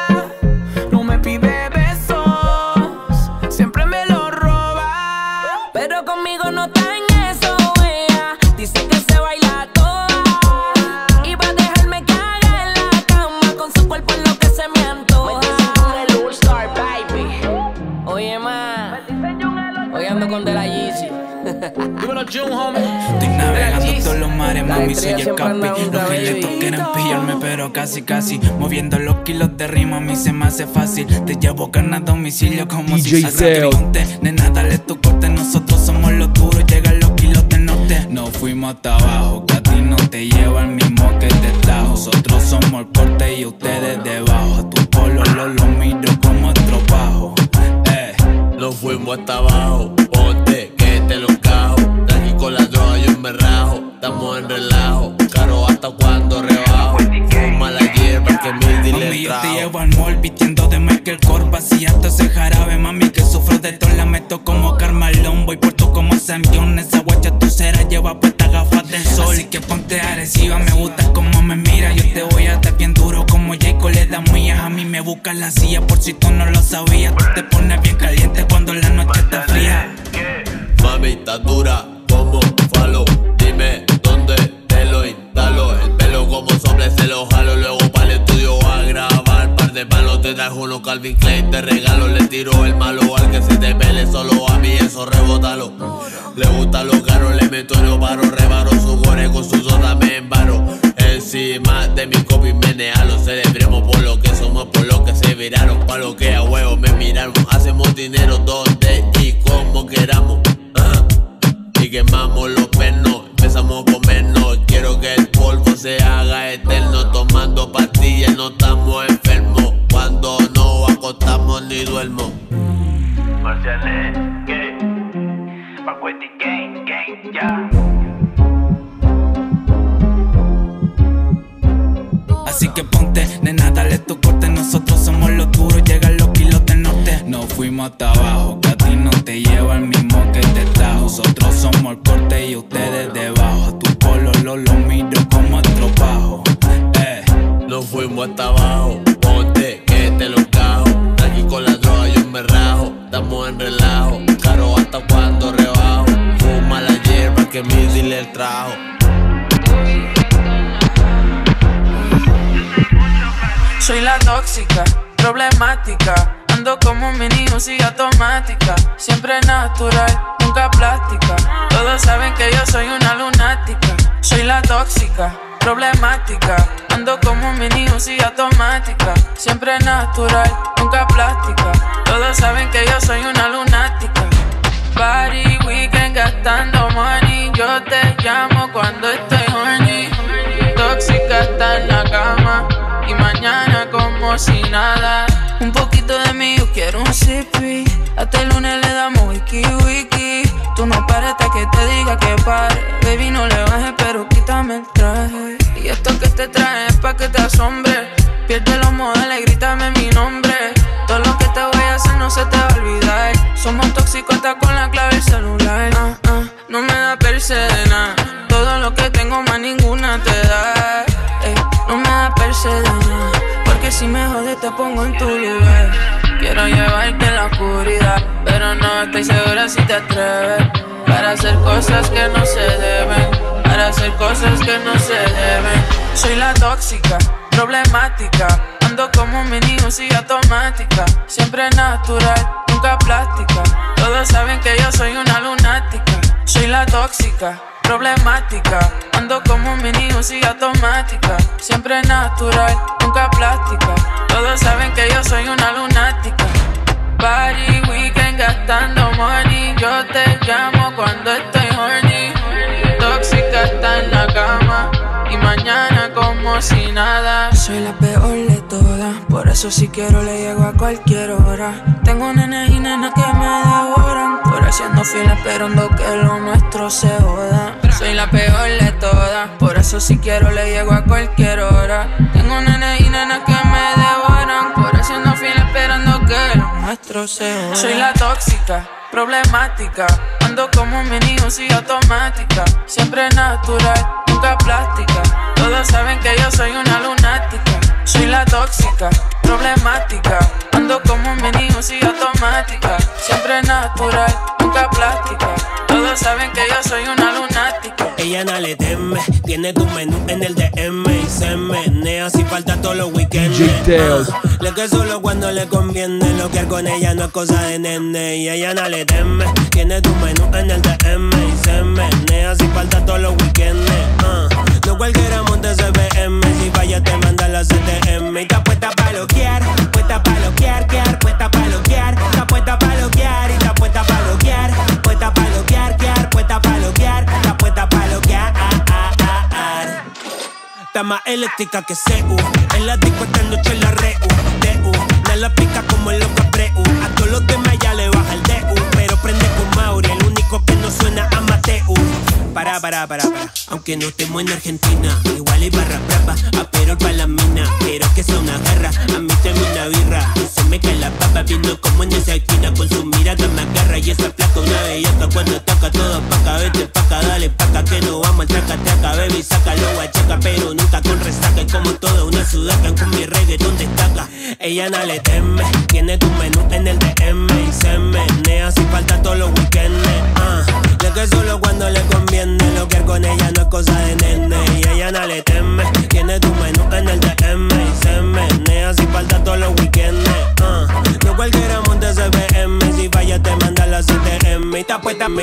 no me pide besos, siempre me lo roba. Pero conmigo no está en eso, ella dice que se baila toda y va a dejarme que haga en la cama con su cuerpo en lo que se me antoja. Me dicen Jungel All-Star, baby. Oye, ma, hoy ando con De La Yeezy. Dímelo, Jun, homie. Estoy navegando todos los mares, mami, soy el capi. Los giletos quieren pillarme, pero casi, casi. Moviendo los kilos de rima, a mí se me hace fácil. Te llevo carne a domicilio como DJ si sacrificante. Nena, dale tu corte, nosotros somos los duros. Llegan los kilos del norte. Nos fuimos hasta abajo, que a ti no te lleva el mismo que te tajo. Nosotros somos el porte y ustedes debajo. A tu polo lo miro como estropajo. Nos fuimos hasta abajo, ponte que te lo cajo. Tranqui con la droga yo me rajo, estamos en relajo. Caro hasta cuando rebajo, fuma la hierba que mi dealer mami, yo trajo. te llevo al mall vistiendo de Michael Kors. Vaciando ese jarabe, mami, que sufro de todo. La meto como Carmalón, voy por todo como Sam Jones. Esa guacha tu cera lleva puestas gafas del sol. Así que ponte agresiva, me gusta como me mira. Yo te voy a dar bien duro como Jayco le da mías. A mí me busca la silla por si tú no lo sabías. Tú te pones bien caliente cuando la noche está fría. Mami, está dura como falo. Dime dónde te lo instalo. El pelo como sobre se lo jalo. Luego para el estudio a grabar par de malo. Te trajo uno Calvin Klein, te regalo. Le tiro el malo al que se te pele. Solo a mí eso rebótalo. Le gusta lo caro, le meto y no paro. Rebaro su gore con su soda, me embaro. Encima de mi copy menealo. Celebremos por lo que somos, por lo que se viraron. Pa' lo que a huevo me miraron. Hacemos dinero donde y como queramos. Y quemamos los pernos, empezamos a comernos. Quiero que el polvo se haga eterno. Tomando pastillas, no estamos enfermos. Cuando no acostamos ni duermo. Marcianet, ¿qué? Pacueti, gang, gang, ya. Así que ponte, nena, dale tu corte. Nosotros somos los duros, llegan los kilos del norte. Nos fuimos hasta abajo, que a ti no te lleva el mismo que te trajo. Nosotros somos el corte y ustedes debajo. A tu polo lo miro como estropajo. Nos fuimos hasta abajo, ponte, que te lo cajo. Aquí con la droga yo me rajo. Estamos en relajo, caro hasta cuando rebajo. Fuma la hierba que mi dealer trajo. Soy la tóxica, problemática. Ando como un mini Uzi automática. Siempre natural, nunca plástica. Todos saben que yo soy una lunática. Soy la tóxica, problemática. Ando como un mini Uzi automática. Siempre natural, nunca plástica. Todos saben que yo soy una lunática. Party, weekend, gastando money. Yo te llamo cuando estoy horny. Tóxica está en la cama. Y mañana como si nada. Un poquito de mí, yo quiero un sippy. Hasta el lunes le damos wiki wiki. Tú no pares hasta que te diga que pare. Baby, no le bajes, pero quítame el traje. Y esto que te traje es pa' que te asombre. Pierde los modales, grítame mi nombre. Todo lo que te voy a hacer no se te va a olvidar. Somos tóxicos hasta con la clave del celular. No me da perse de nada. Todo lo que tengo más ninguna te da. No me da perse de nada. Porque si me jodes te pongo en tu lugar. Quiero llevarte en la oscuridad, pero no estoy segura si te atreves. Para hacer cosas que no se deben. Para hacer cosas que no se deben. Soy la tóxica, problemática. Ando como un mini Uzi automática. Siempre natural, nunca plástica. Todos saben que yo soy una lunática. Soy la tóxica, problemática. Ando como un mini Uzi automática. Siempre natural, nunca plástica. Todos saben que yo soy una lunática. Party, weekend, gastando money. Yo te llamo cuando estoy horny. Tóxica está en la cama. Y mañana como si nada. Soy la peor de todas. Por eso si quiero le llego a cualquier hora. Tengo nenes y nenas que me devoran. Por haciendo fila esperando que lo nuestro se joda. Soy la peor de todas. Por eso si quiero le llego a cualquier hora. Tengo nenes y nenas que me devoran. Por haciendo fila esperando que lo nuestro se joda. Soy la tóxica, problemática. Ando como un mini Uzi automática. Siempre natural, nunca plástica. Todos saben que yo soy una lunática. Soy la tóxica, problemática. Ando como un mini Uzi automática. Siempre natural, nunca plástica. Todos saben que yo soy una lunática. Ella no le teme, tiene tu menú en el DM y se menea si falta todos los weekends. Le que solo cuando le conviene, lo que hago con ella no es cosa de nene. Y ella no le teme, tiene tu menú en el DM y se menea si falta todos los weekends. No cualquiera monte CBM, si falla te manda la CTM. Y está puesta pa' loquear, puesta pa' loquear, puesta pa' loquear, está puesta pa' loquear y está puesta pa' loquear, puesta pa' loquear, puesta pa' loquear, está puesta pa' loquear. Está más eléctrica que CU. En la disco esta noche la reu. DU, no la pica como el loco Preu. A todos los demás ya le baja el DU. Pero prende con Mauri, el único que no suena a Mateu. Para. Aunque no estemos en Argentina, igual hay barra brava, pero pa' la mina. Pero que sea una guerra, a mí teme una birra. Y se me cae la papa viendo como en esa esquina con su mirada me agarra. Y esa placa una bellaca cuando toca todo pa' acá. Vete pa' acá, dale pa' acá que no vamos al traca-traca. Baby, sácalo, guachaca, pero nunca con resaca. Y como toda una sudaca con mi reggaetón destaca. Ella no le teme, tiene tu menú en el DM y se menea si falta todos los weekends. De que solo cuando le conviene, lo que con ella no es cosa de nene. Y ella no le teme, tiene tu menú en el DM y se menea sin falta todos los weekends. No cualquiera monte ese BM, si falla te manda la CTM. Y ta puesta.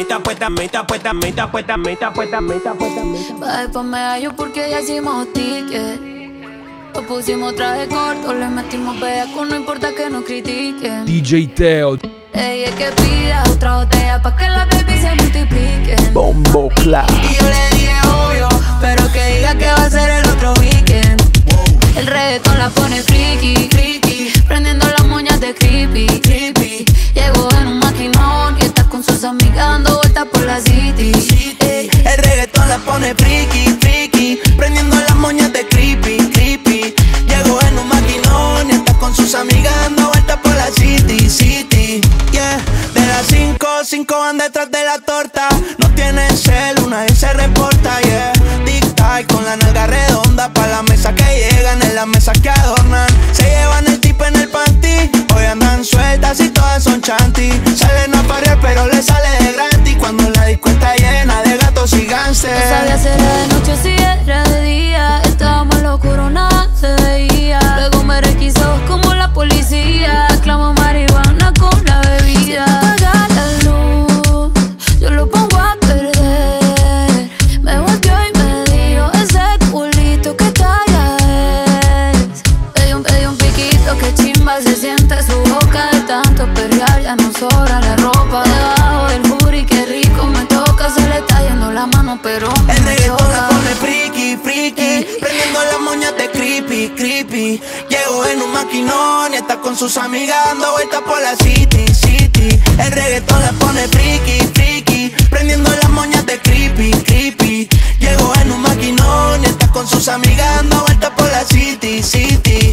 Va después me hallo porque ya hicimos ticket. Lo pusimos traje corto, le metimos bellaco, no importa que nos critiquen. DJ Teo. Ella es que pida otra botella pa' que la baby se multiplique. Bombo Clat. Y yo le dije obvio, pero que diga que va a ser el otro weekend. El reggaetón la pone friki, friki, prendiendo las moñas de creepy, creepy. Llegó en un maquinón y está con sus amigas dando vueltas por la city. El reggaetón la pone friki, friki, prendiendo las moñas de creepy, creepy. Llegó en un maquinón y está con sus amigas dando vueltas por la city, city. Yeah, de las 5 van detrás de la torta. No tienen cel, nadie se reporta, yeah. Tic-tac con la nalga redonda pa' la mesa que llegan, en la mesa que adornan. Se llevan el tip en el panty, hoy andan sueltas y todas son chanty. Salen a parear pero le sale de gratis cuando la disco está llena de gatos y gánster. No sabía si era de noche o si era de día. Estábamos en lo oscuro, nada se veía. Luego me requisó como la policía. Clamo marihuana con la bebida. Apaga la luz, yo lo pongo a perder. Me volteó y me dijo ese culito que talla es. Pedí un piquito que chimba se siente su boca de tanto perrear. Ya no sobra la ropa debajo del booty, qué rico me toca. Se le está yendo la mano pero me el reggaetón choca. la pone friki, friki, prendiendo las moñas de creepy, creepy. Llegó en un maquinón y está con sus amigas dando vueltas por la city, city. El reggaetón la pone friki, friki, prendiendo las moñas de creepy, creepy. Llegó en un maquinón y está con sus amigas dando vueltas por la city, city.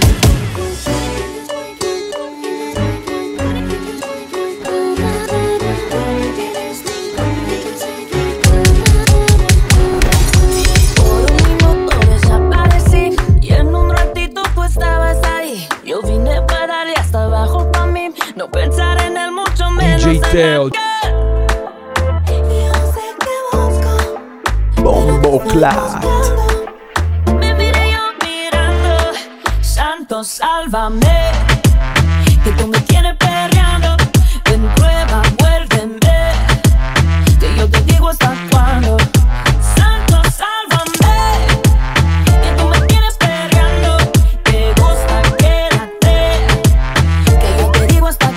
Yo vine para darle hasta abajo pa' mí, no pensar en el mucho menos. DJ Teo. Bombo Clat. Me miré yo mirando, santo sálvame, que tú me tienes perreando. Ven prueba, muérdeme, que yo te digo hasta cuándo. Santo sálvame, que tú me tienes perreando. Te gusta, quédate, que yo te digo hasta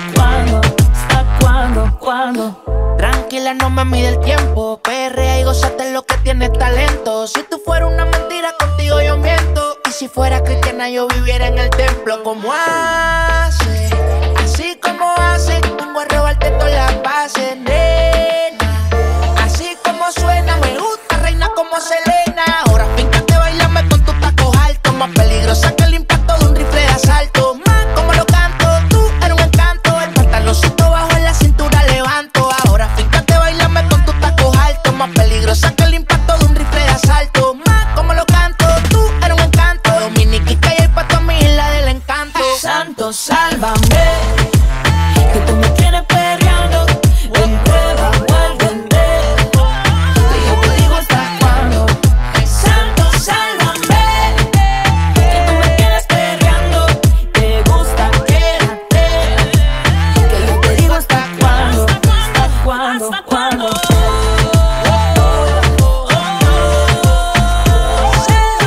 cuándo. Tranquila, no me mide el tiempo. Perrea y gózate lo que tienes talento. Si tú fueras una mentira, contigo yo miento. Y si fuera cristiana, yo viviera en el templo. ¿Cómo hace? Así como hace. Vengo a robarte todas las bases, nena. Así como suena, me gusta, reina como Selena. Ahora fíjate, bailame con tus tacos altos. Más peligrosa que el impacto de un rifle de asalto. Más como lo canto, tú eres un encanto. El pantaloncito bajo en la cintura levanto. Ahora fíjate, bailame con tus tacos altos. Más peligrosa que el impacto de un rifle de asalto. Más como lo canto, tú eres un encanto. Dominiquita y el pato a mi isla del encanto. Santo, sálvame, que tú me tienes perreando. Ven, prueba, muérdeme, que yo te digo hasta cuándo. Santo, sálvame, que tú me tienes perreando. Te gusta, quédate, que yo te digo hasta cuándo. Hasta cuándo.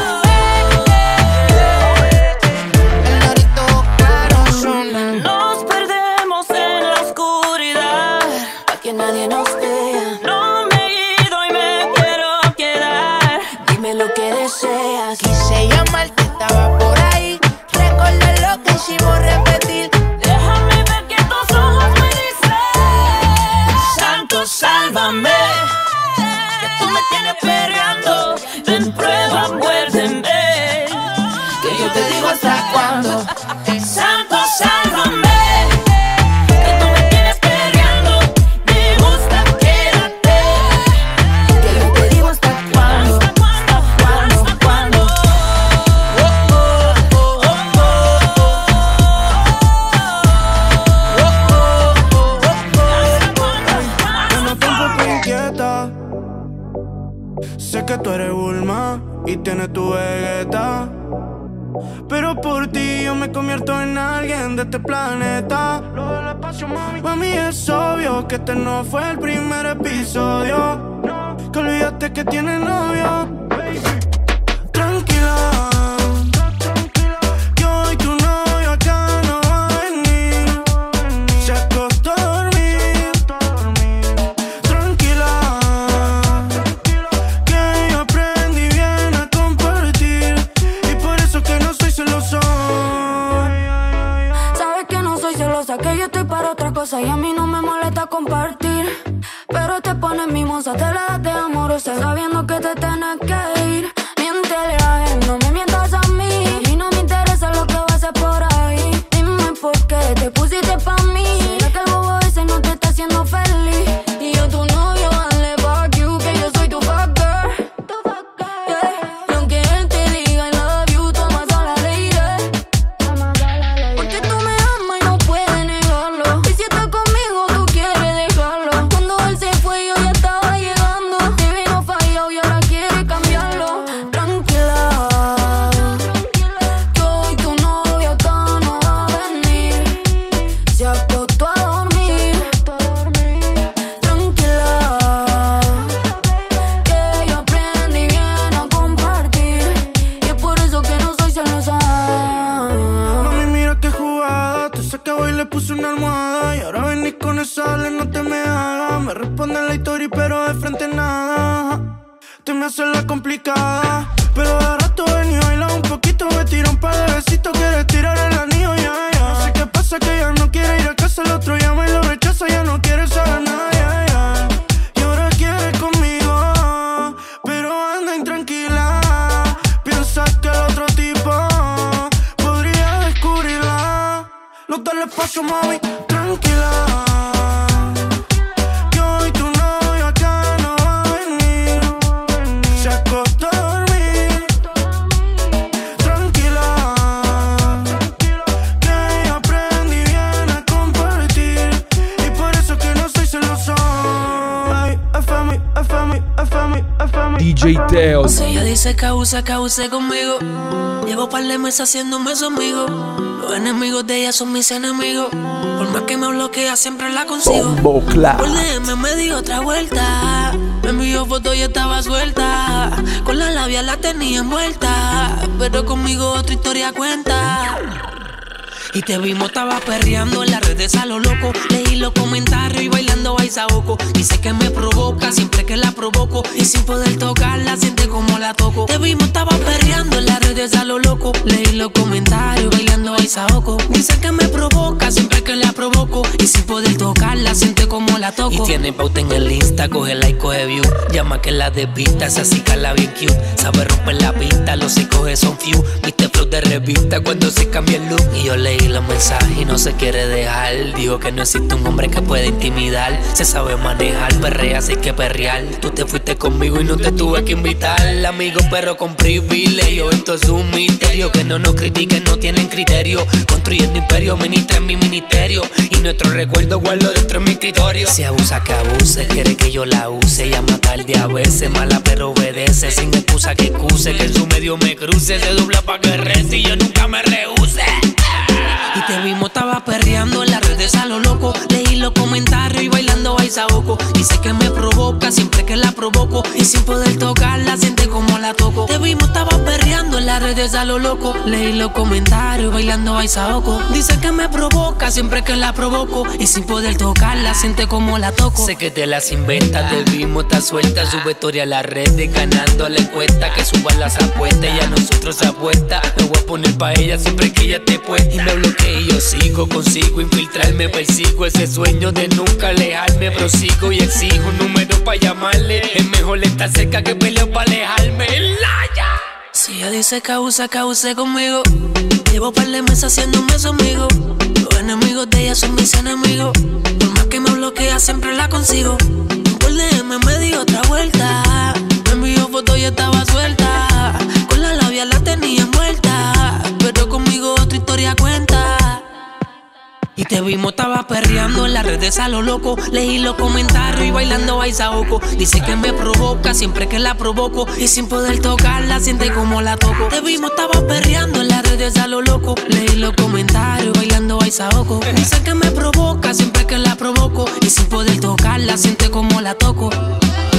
El dorito claro suena. Nos convierto en alguien de este planeta. Lo del espacio, mami. Mami, es obvio que este no fue el primer episodio. Que olvidaste que tienes novio. Tranquila, que hoy tu novio acá no va a venir. Se acostó a dormir. Tranquila, que yo aprendí bien a compartir. Y por eso que no soy celoso. Sabes que no soy celosa, que yo estoy para otra cosa. Y a mí no me molesta compartir. Pero te pones mimosa, te la das de amorosa, sabiendo que te tienes que ir. Miéntele a él, no me mientas a mí. A mí no me interesa lo que va a hacer por ahí. Dime por qué te pusiste pa' mí. ¿Será que el bobo ese no te está haciendo feliz? Y yo tu novio, dale fuck you, que yo soy tu fuck girl. Yeah. Y aunque él te diga I love you, toma sola lady. Porque tú me amas y no puedes negarlo. Y si estás conmigo, tú quieres dejarlo. Cuando él se fue, yo ya estaba llegando. Te vino fallado y ahora quiere cambiarlo. Tranquila, que hoy tu novio acá no va a venir. Se acostó a dormir. Tranquila, que yo aprendí bien a compartir. Y es por eso que no soy celosa. Mami, mira qué jugada. Te saqué y le puse una almohada. Y ahora venís con esa ale, no te me hagas. Me responde la historia, pero de frente nada. Te me hace la complicada. Pero de rato ven y baila un poquito. Me tira un par de besitos, quieres tirar el anillo, ya, ya. No sé qué pasa, que ya no quiere ir a casa. El otro llama y lo rechaza, ya no quiere saber nada, ya, ya. Y ahora quiere conmigo, pero anda intranquila. Piensa que el otro tipo podría descubrirla. No te le paso, mami, tranquila. Que hoy tu novio acá no va a venir. Se acostó a dormir. Tranquila, que yo aprendí bien a compartir. Y por eso que no soy celoso. Ay, FMI, FMI, FMI, FMI. DJ Teo. Si ella dice que abuse conmigo. Llevo par de meses haciéndome su amigo. Los enemigos de ella son mis enemigos. Por más que me bloquea, siempre la consigo. Bombo Clap. Por DM me dio otra vuelta. Me envió fotos y estaba suelta. Con la labia la tenía envuelta. Pero conmigo otra historia cuenta. Y te vimos, estaba perreando en las redes a lo loco. Leí los comentarios y bailando baisaoco. Dice que me provoca siempre que la provoco. Y sin poder tocarla, siente como la toco. Te vimos, estaba perreando en las redes a lo loco. Leí los comentarios bailando baisaoco. Dice que me provoca siempre que la provoco. Y sin poder tocarla, siente como la toco. Y tiene pauta en el Insta, coge like, coge view. Llama que la desvista, esa sí cala bien cute. Sabe romper la pista, los que coge son few. Viste flow de revista cuando se cambia el look. Y yo leí los mensajes y no se quiere dejar. Digo que no existe un hombre que pueda intimidar. Se sabe manejar, perrea, así que perrear. Tú te fuiste conmigo y no te tuve que invitar. Amigo perro con privilegio. Esto es un misterio. Que no nos critiquen, no tienen criterio. Construyendo imperio, ministra en mi ministerio. Y nuestro recuerdo guardo dentro de mi escritorio. Si abusa que abuse, quiere que yo la use. Llama tarde a veces, mala pero obedece. Sin excusa que excuse, que en su medio me cruce. Se dobla pa' que reste y yo nunca me rehúse. Y te vimos, estaba perreando en las redes a lo loco. Leí los comentarios y bailando baisaoco. Dice que me provoca siempre que la provoco. Y sin poder tocarla, siente como la toco. Te vimos, estaba perreando en las redes a lo loco. Leí los comentarios y bailando baisaoco. Dice que me provoca siempre que la provoco. Y sin poder tocarla, siente como la toco. Sé que te las inventas, te vimos, está suelta. Sube historia a las redes, ganando la encuesta. Que suban las apuestas y a nosotros se apuesta. Me voy a poner pa' ella siempre que ella te puesta. Y me bloquea y yo sigo, consigo infiltrarme. Persigo ese sueño de nunca alejarme. Prosigo y exijo un número pa' llamarle. Es mejor estar cerca que peleo pa' alejarme. Si ella dice que abuse conmigo. Llevo par de meses haciéndome su amigo. Los enemigos de ella son mis enemigos. Por más que me bloquea, siempre la consigo. Por DM me dio otra vuelta. Me envió fotos y estaba suelta. Con la labia la tenía envuelta. Pero conmigo otra historia cuenta. Y te vimos, estaba perreando en las redes a lo loco. Leí los comentarios y bailando baisaoco. Dice que me provoca siempre que la provoco. Y sin poder tocarla, siente como la toco. Te vimos, estaba perreando en las redes a lo loco. Leí los comentarios bailando baisaoco. Dice que me provoca siempre que la provoco. Y sin poder tocarla, siente como la toco.